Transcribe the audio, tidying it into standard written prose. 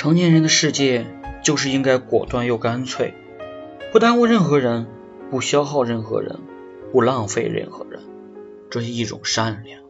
成年人的世界就是应该果断又干脆，不耽误任何人，不消耗任何人，不浪费任何人，这是一种善良。